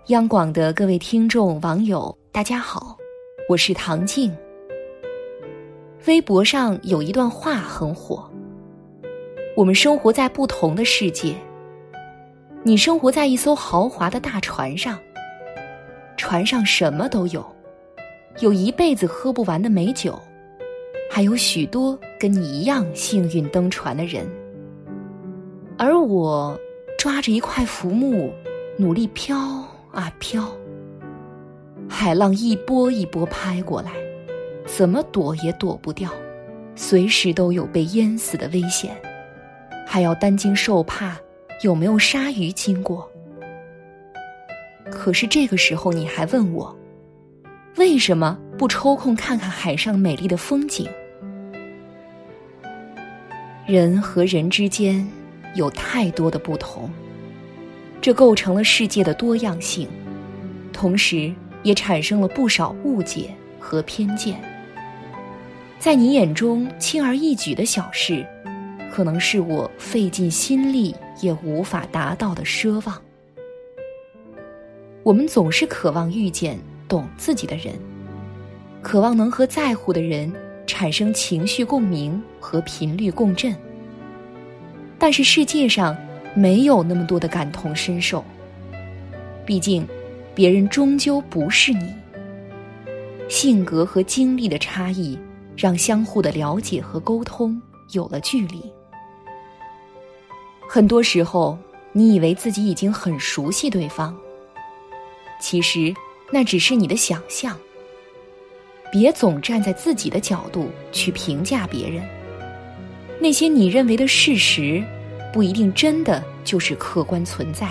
央广的各位听众网友大家好，我是唐静。微博上有一段话很火，我们生活在不同的世界，你生活在一艘豪华的大船上，船上什么都有，有一辈子喝不完的美酒，还有许多跟你一样幸运登船的人，而我抓着一块浮木努力飘啊飘，海浪一波一波拍过来，怎么躲也躲不掉，随时都有被淹死的危险，还要担惊受怕有没有鲨鱼经过。可是这个时候你还问我，为什么不抽空看看海上美丽的风景？人和人之间有太多的不同，这构成了世界的多样性，同时也产生了不少误解和偏见。在你眼中轻而易举的小事，可能是我费尽心力也无法达到的奢望。我们总是渴望遇见懂自己的人，渴望能和在乎的人产生情绪共鸣和频率共振。但是世界上没有那么多的感同身受，毕竟别人终究不是你。性格和经历的差异让相互的了解和沟通有了距离。很多时候你以为自己已经很熟悉对方，其实那只是你的想象。别总站在自己的角度去评价别人，那些你认为的事实不一定真的就是客观存在。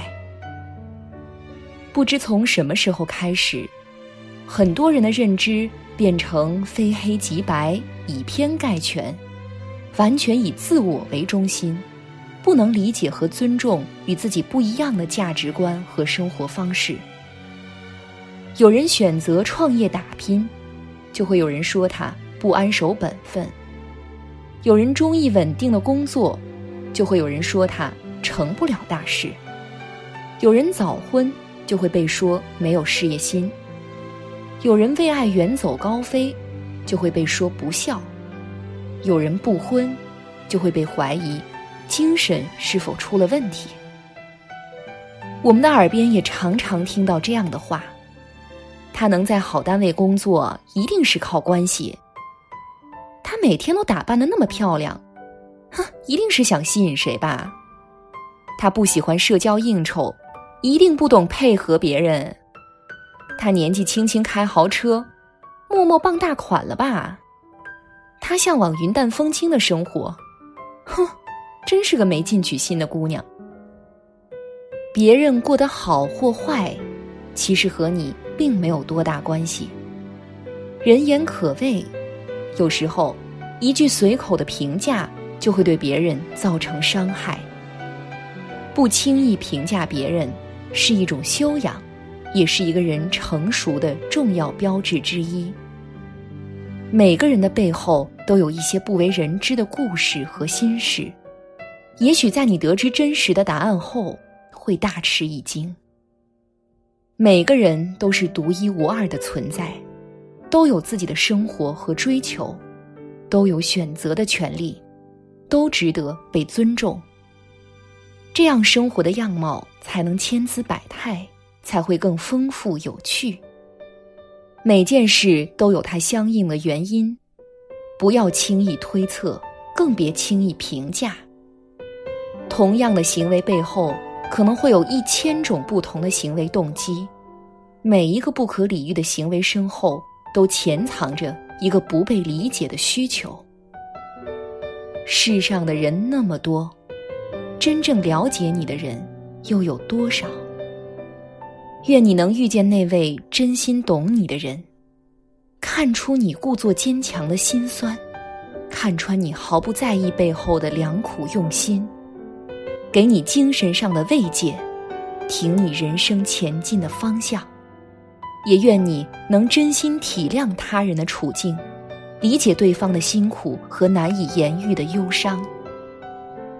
不知从什么时候开始，很多人的认知变成非黑即白，以偏概全，完全以自我为中心，不能理解和尊重与自己不一样的价值观和生活方式。有人选择创业打拼，就会有人说他不安守本分；有人中意稳定的工作，就会有人说他成不了大事；有人早婚，就会被说没有事业心；有人为爱远走高飞，就会被说不孝；有人不婚，就会被怀疑精神是否出了问题。我们的耳边也常常听到这样的话，他能在好单位工作一定是靠关系，他每天都打扮得那么漂亮，一定是想吸引谁吧。他不喜欢社交应酬，一定不懂配合别人。他年纪轻轻开豪车，默默傍大款了吧。他向往云淡风轻的生活，真是个没进取心的姑娘。别人过得好或坏，其实和你并没有多大关系。人言可畏，有时候一句随口的评价就会对别人造成伤害。不轻易评价别人是一种修养，也是一个人成熟的重要标志之一。每个人的背后都有一些不为人知的故事和心事，也许在你得知真实的答案后，会大吃一惊。每个人都是独一无二的存在，都有自己的生活和追求，都有选择的权利，都值得被尊重。这样生活的样貌才能千姿百态，才会更丰富有趣。每件事都有它相应的原因，不要轻易推测，更别轻易评价。同样的行为背后，可能会有1000种不同的行为动机，每一个不可理喻的行为身后，都潜藏着一个不被理解的需求。世上的人那么多，真正了解你的人又有多少？愿你能遇见那位真心懂你的人，看出你故作坚强的心酸，看穿你毫不在意背后的良苦用心，给你精神上的慰藉，挺你人生前进的方向。也愿你能真心体谅他人的处境，理解对方的辛苦和难以言喻的忧伤。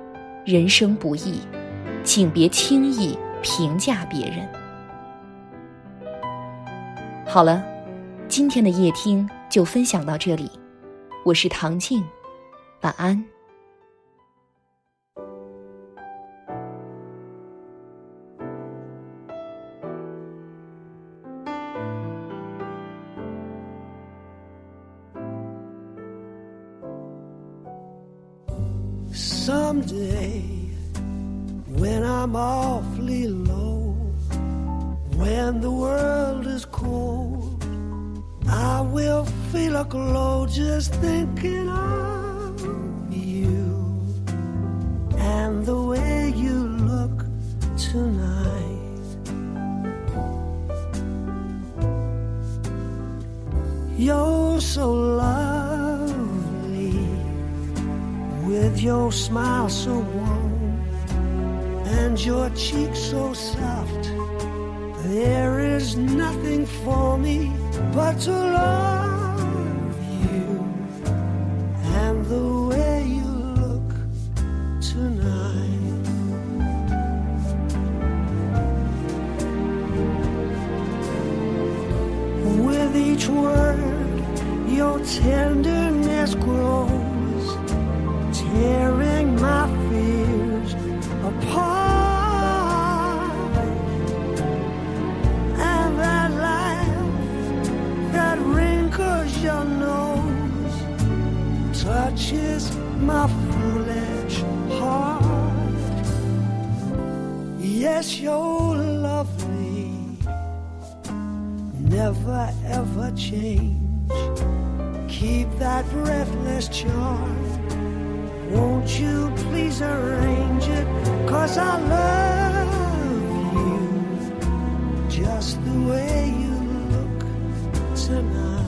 人生不易，请别轻易评价别人。 好了，今天的夜听就分享到这里，我是唐静，晚安。 Someday, when I'm awfully low, when the world is cold, I will feel a glow just thinking of you and the way you look tonight. You're so lovely, with your smile so warm and your cheek so soft. There is nothing for me but to love you and the way you look tonight. With each word, your tenderness grows, tearing my fears apart. And that laugh that wrinkles your nose touches my foolish heart. Yes, you're lovely, never ever change. Keep that breathless charm. Won't you please arrange it? 'Cause I love you just the way you look tonight.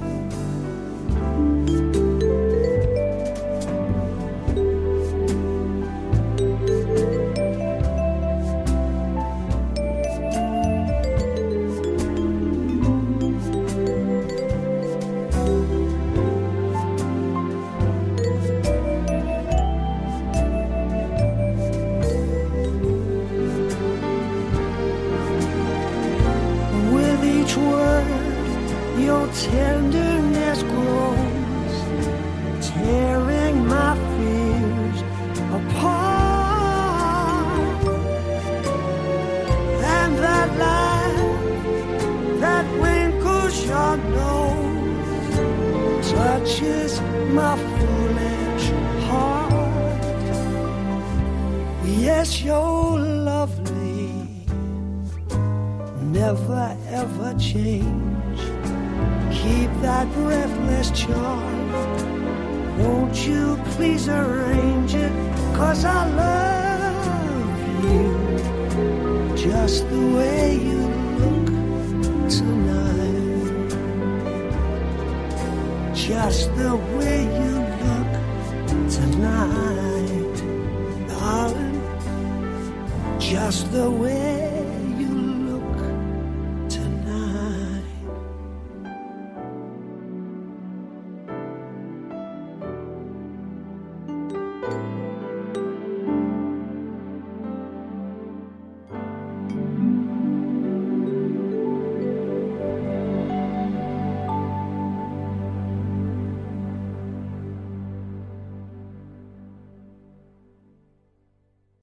Your tenderness grows, tearing my fears apart. And that laugh that wrinkles your nose touches my foolish heart. Yes, you're lovely, never ever change. Keep that breathless charm. Won't you please arrange it? 'Cause I love you just the way you look tonight. Just the way you look tonight, darling. Just the way